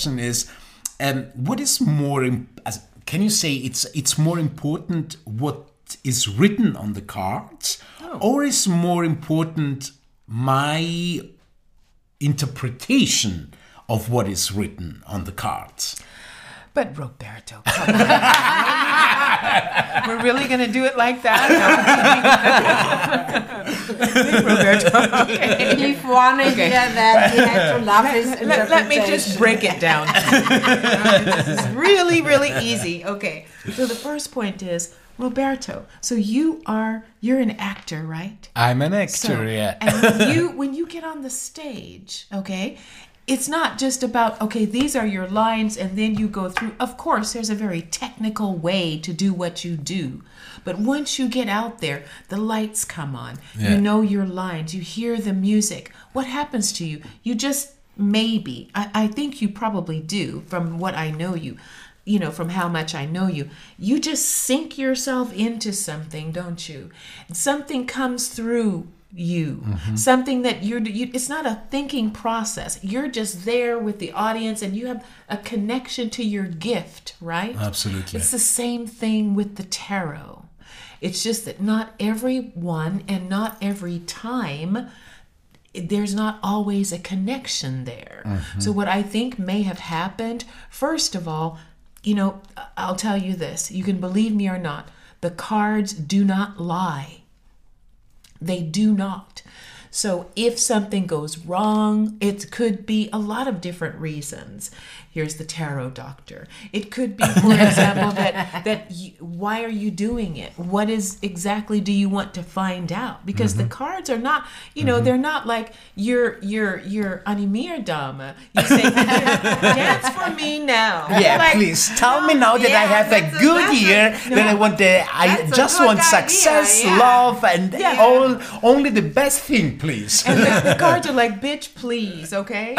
what is more, can you say it's more important what is written on the cards, or is more important my interpretation of what is written on the cards? But Roberto, come on. We're really going to do it like that? Roberto, okay. If one idea that he had to love his interpretation. Let me just break it down. This is really, really easy. Okay, so the first point is, Roberto, so you're an actor, right? I'm an actor, yeah. And when you get on the stage, okay, it's not just about, okay, these are your lines and then you go through. Of course, there's a very technical way to do what you do. But once you get out there, the lights come on. Yeah. You know your lines. You hear the music. What happens to you? You just maybe, I think you probably do from what I know you. You know, from how much I know you, you just sink yourself into something, don't you? Something comes through you, something that it's not a thinking process. You're just there with the audience and you have a connection to your gift, right? Absolutely. It's the same thing with the tarot. It's just that not everyone and not every time, there's not always a connection there. So what I think may have happened, first of all, you know, I'll tell you this, you can believe me or not, the cards do not lie. They do not. So if something goes wrong, it could be a lot of different reasons. Here's the tarot doctor. It could be, for example, why are you doing it? What is exactly do you want to find out? Because the cards are not, you know, they're not like your Animir Dama. You say, dance for me now. Yeah, like, please tell me now that I have a good year. That I want I just want success, love, and only the best thing, please. And the cards are like, bitch, please, okay?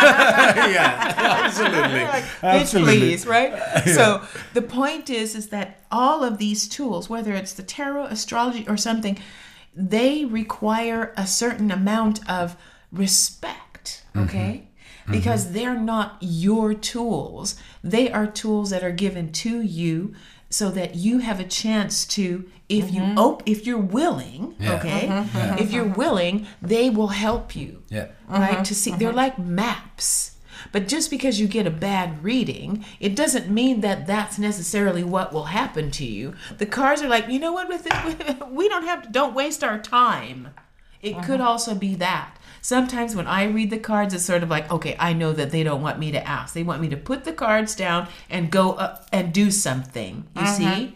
Yeah, absolutely. Like, bitch, please, right? Yeah. So the point is that all of these tools, whether it's the tarot, astrology, or something, they require a certain amount of respect, okay? Because they're not your tools. They are tools that are given to you so that you have a chance to, if you're willing, if you're willing, they will help you, right? To see, they're like maps. But just because you get a bad reading, it doesn't mean that that's necessarily what will happen to you. The cards are like, you know what, with it, we don't waste our time. It could also be that. Sometimes when I read the cards, it's sort of like, okay, I know that they don't want me to ask. They want me to put the cards down and go up and do something. You see,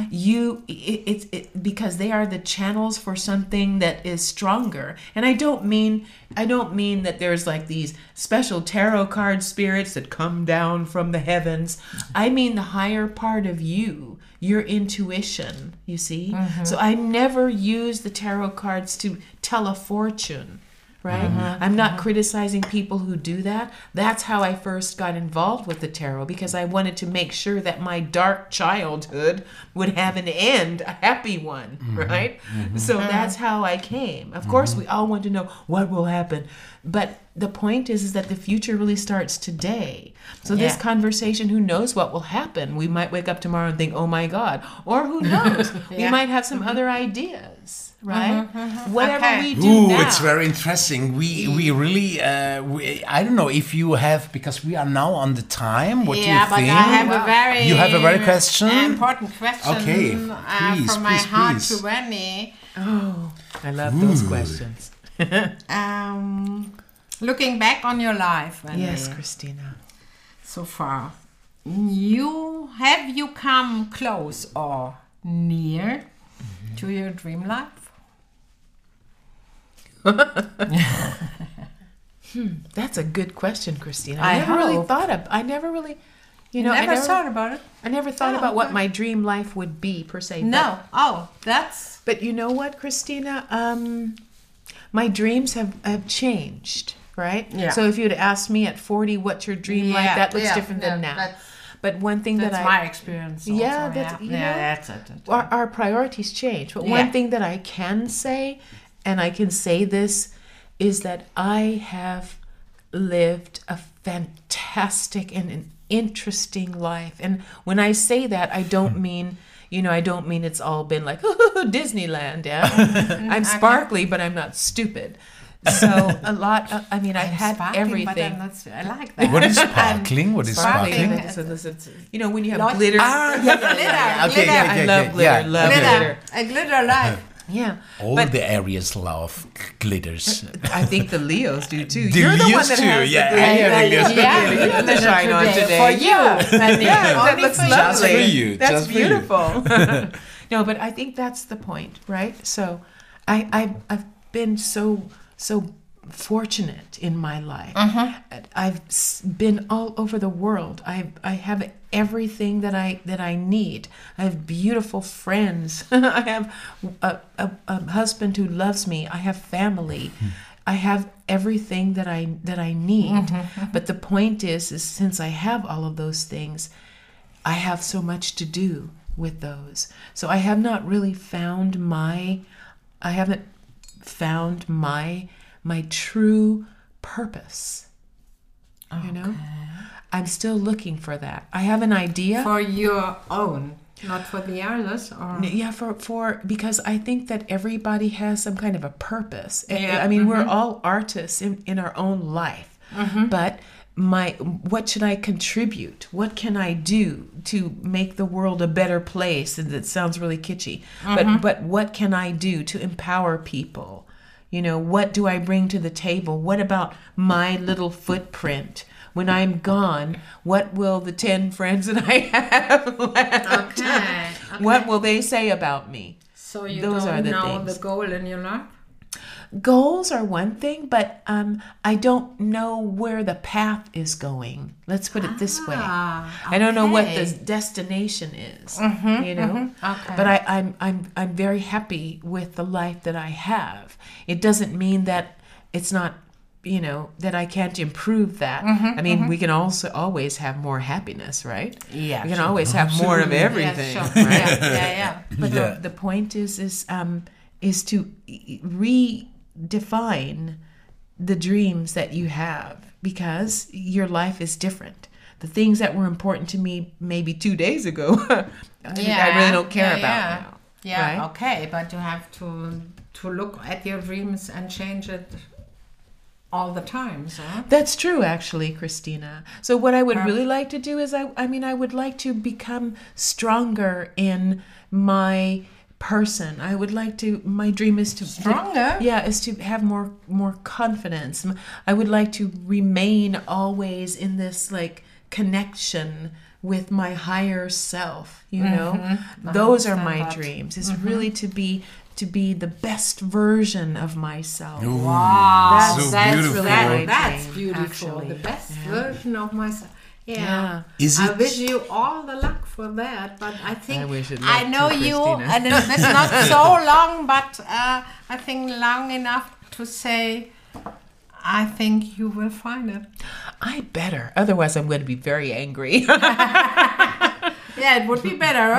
because they are the channels for something that is stronger. And I don't mean that there's like these special tarot card spirits that come down from the heavens. I mean the higher part of you, your intuition, you see? So I never use the tarot cards to tell a fortune, right? I'm not criticizing people who do that. That's how I first got involved with the tarot, because I wanted to make sure that my dark childhood would have an end, a happy one, right? So that's how I came. Of course, we all want to know what will happen. But the point is that the future really starts today. So this conversation, who knows what will happen? We might wake up tomorrow and think, oh my God. Or who knows? We might have some other ideas. Right? Whatever we do now. It's very interesting. We really, I don't know if you have, because we are now on the time. What do you think? But I have you have a very question? Important question. Okay, please, from my heart please. to Rennie. Oh, I love those questions. Looking back on your life, Rennie, Yes, Christina. so far, have you come close or near to your dream life? That's a good question, Christina. I I never really hope. thought of. I never really, I Never thought about it? I never thought Oh, about what okay. my dream life would be per se. No. Oh, that's... But you know what, Christina? My dreams have changed, right? Yeah. So if you'd asked me at 40, what's your dream life? That looks different than now. But one thing That's that my experience. Also, Yeah, that's- you know, that's it. our priorities change. But Yeah. one thing that I can say, and I can say this, is that I have lived a fantastic and an interesting life. And when I say that, I don't mean, I don't mean it's all been like Disneyland. Yeah, I'm sparkly, but I'm not stupid. So a lot. I've had Sparkling, everything. but I like that. What is sparkling? What is Sparkling. sparkling? So this is, when you have Lots- glitter. Glitter. Okay, glitter. I love glitter. Love Glitter. glitter. A glitter life. Yeah. All But the areas love glitters. I think the Leos do too. The You're the one Leos that too, has yeah. the glitter. Yeah, the Leos got Yeah, You have the shine on today. For you. Yeah, that looks for you. lovely. Just for you, That's just for you. beautiful. No, but I think that's the point, right? So I've been so fortunate in my life. I've been all over the world. I have everything that I need. I have beautiful friends. I have a husband who loves me. I have family. I have everything that I need. But the point is since I have all of those things, I have so much to do with those. So I have not really found my true purpose. I'm still looking for that. I have an idea. For your own, not for the others. Or... Yeah, for because I think that everybody has some kind of a purpose. Yeah. I mean, we're all artists in our own life. But what should I contribute? What can I do to make the world a better place? And it sounds really kitschy. But what can I do to empower people? What do I bring to the table? What about my little footprint? When I'm gone, what will the 10 friends that I have left? Okay. What will they say about me? So you Those don't are the know things. the goal in your life? Goals are one thing, but I don't know where the path is going. Let's put it this way. I don't know what the okay. destination is. Okay. But I'm very happy with the life that I have. It doesn't mean that it's not, that I can't improve that. I mean, we can also always have more happiness, right? Yeah, we can sure. always have more of everything, Yeah, sure. right? Yeah. But Yeah. the point is to redefine the dreams that you have, because your life is different. The things that were important to me maybe 2 days ago, I really don't care about now. Yeah, right? okay, but you have to look at your dreams and change it all the time, so. That's true, actually, Christina. So what I would really like to do is, I would like to become stronger in my person. I would like to. My dream is to Stronger? is to have more confidence. I would like to remain always in this like connection with my higher self. You know, those are my dreams. Is really to be the best version of myself. Ooh, Wow, so that's beautiful. That's dream, beautiful. actually. The best version of myself. Yeah. Yeah. Is I it- wish you all the luck for that, but I think I wish it I luck know too, you, Christina. and it's not so long, but I think long enough to say, I think you will find it. I better. Otherwise, I'm going to be very angry. Yeah, it would be better.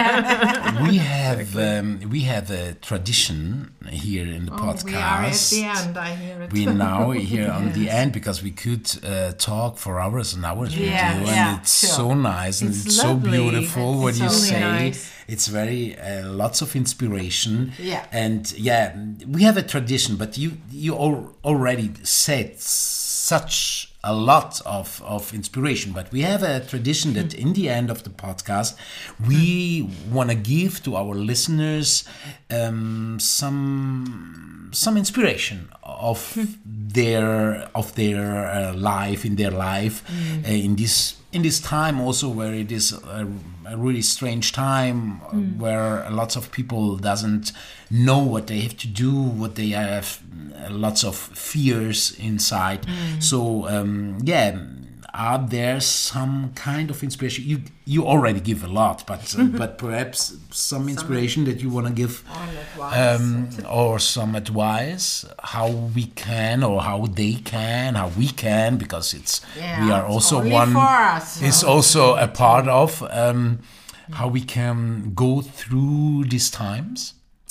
We have a tradition here in the podcast. We are at the end, I hear it. We now here on the end because we could talk for hours and hours with you, and it's so nice and it's so lovely. beautiful what It's you so say. nice. It's very lots of inspiration. Yeah. And we have a tradition, but you already said such a lot of inspiration, but we have a tradition that in the end of the podcast we want to give to our listeners some inspiration of their life in in this time also where it is a really strange time where lots of people doesn't know what they have to do, what they have lots of fears inside. So are there some kind of inspiration? You already give a lot, but perhaps some inspiration that you want to give, or some advice how we can, or how they can, how we can, because we are also only one. for us. Is also a part of how we can go through these times.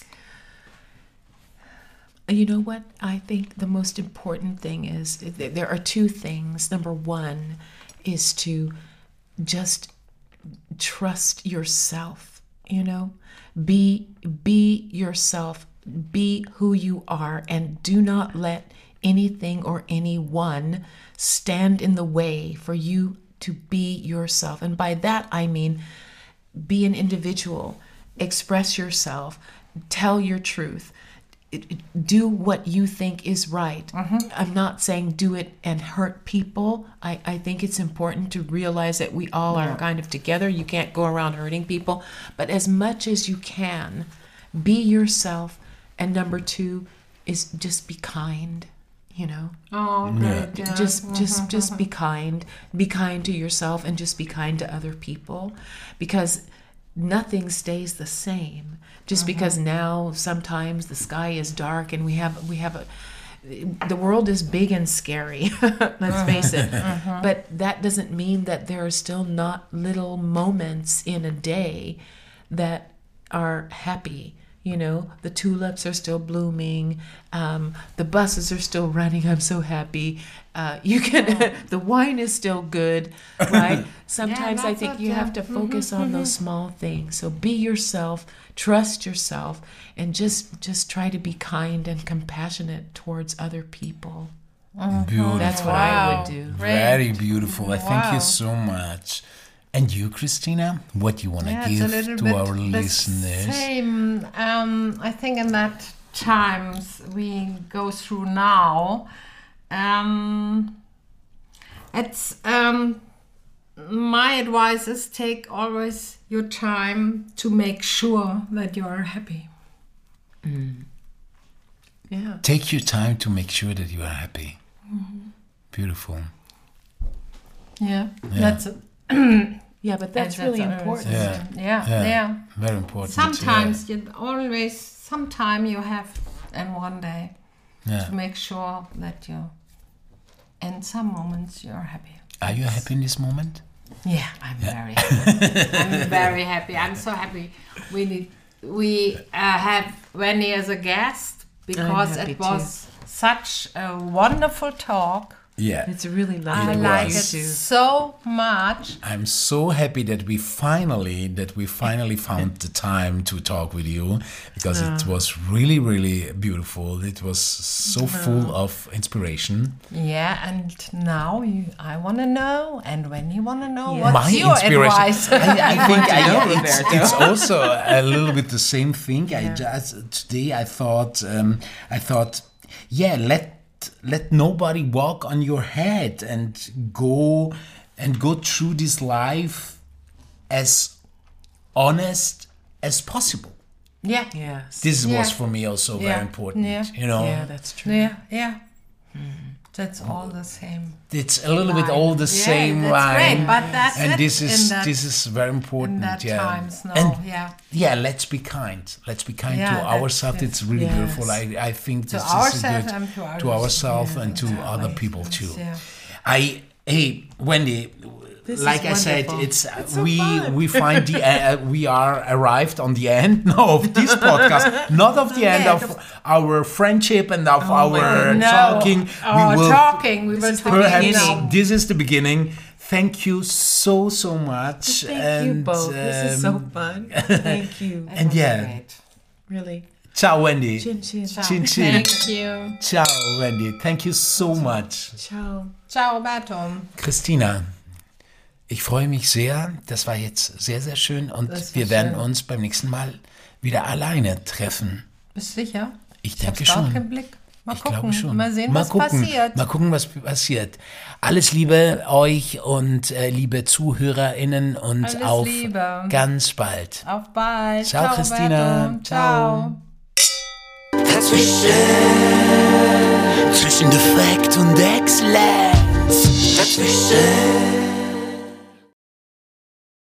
You know what? I think the most important thing is there are two things. Number one is to just trust yourself, you know? Be yourself, be who you are, and do not let anything or anyone stand in the way for you to be yourself. And by that I mean be an individual, express yourself, tell your truth. Do what you think is right. I'm not saying do it and hurt people. I think it's important to realize that we all are kind of together. You can't go around hurting people. But as much as you can, be yourself. And number two is just be kind, you know. Oh, great. Yeah. Just be kind. Be kind to yourself and just be kind to other people. Because nothing stays the same. Just because now sometimes the sky is dark and the world is big and scary, let's face it. But that doesn't mean that there are still not little moments in a day that are happy. You know, the tulips are still blooming, the buses are still running. I'm so happy. The wine is still good, right? Sometimes I think you have to focus on those small things. So be yourself, trust yourself, and just try to be kind and compassionate towards other people. Beautiful. That's what I would do. Very beautiful. I thank you so much. And you, Christina, what you want to give to our listeners? Same. I think in that times we go through now, it's my advice is take always your time to make sure that you are happy. Yeah. Take your time to make sure that you are happy. Beautiful. Yeah, that's it. Yeah, but that's really important. Yeah. Very important. Sometimes sometime you have in one day to make sure that you, in some moments, you're happy. Are you happy in this moment? Yeah, I'm very happy. I'm very happy. I'm so happy. We have Wendy as a guest because it was such a wonderful talk. Yeah. It's really I lovely. like it was. so much. I'm so happy that we finally found the time to talk with you, because it was really, really beautiful. It was so full of inspiration. Yeah, and now I want to know, and when you want to know, Yeah. what's My your inspiration. advice? I think know, it's, Roberto. it's also a little bit the same thing. Today I thought, let nobody walk on your head, and go through this life as honest as possible. Yeah, Yes. This Yeah. was for me also Yeah. very important. Yeah. You know, Yeah, that's true. yeah. That's all the same. it's a little bit line. all the Yeah, same that's line. great, but that's and it this in is that- very important. In that yeah. times now, And yeah. let's be kind. Let's be kind Yeah, to that's ourselves. it. It's really Yes. beautiful. I think this is a ourselves good and to ourselves others. and to Yeah, other always, people yes, too. yeah. Hey, Wendy. This like is I said, wonderful. it's so we fun. we find we are arrived on the end of this podcast, not of the end Yeah, of our friendship and of my our goodness. talking. We will Perhaps beginning. this is the beginning. Thank you so much. Thank you both. This is so fun. Thank you. And yeah, Great. Really. ciao, Wendy. Chin chin. Chin chin. Thank you. Ciao, Wendy. Thank you so much. Ciao. Ciao, Roberto. Christina, ich freue mich sehr. Das war jetzt sehr, sehr schön. Und Das war wir werden schön. uns beim nächsten Mal wieder alleine treffen. Bist du sicher? Ich denke hab's schon. Auch im Blick. Mal Ich gucken. glaube schon. Mal sehen, Mal was gucken. passiert. Mal gucken, was passiert. Alles Liebe euch und liebe ZuhörerInnen und Alles auf Liebe. ganz bald. Auf bald. Ciao, Christina. Roberto. Ciao. Zwischen Defekt und Exzellenz. Dazwischen.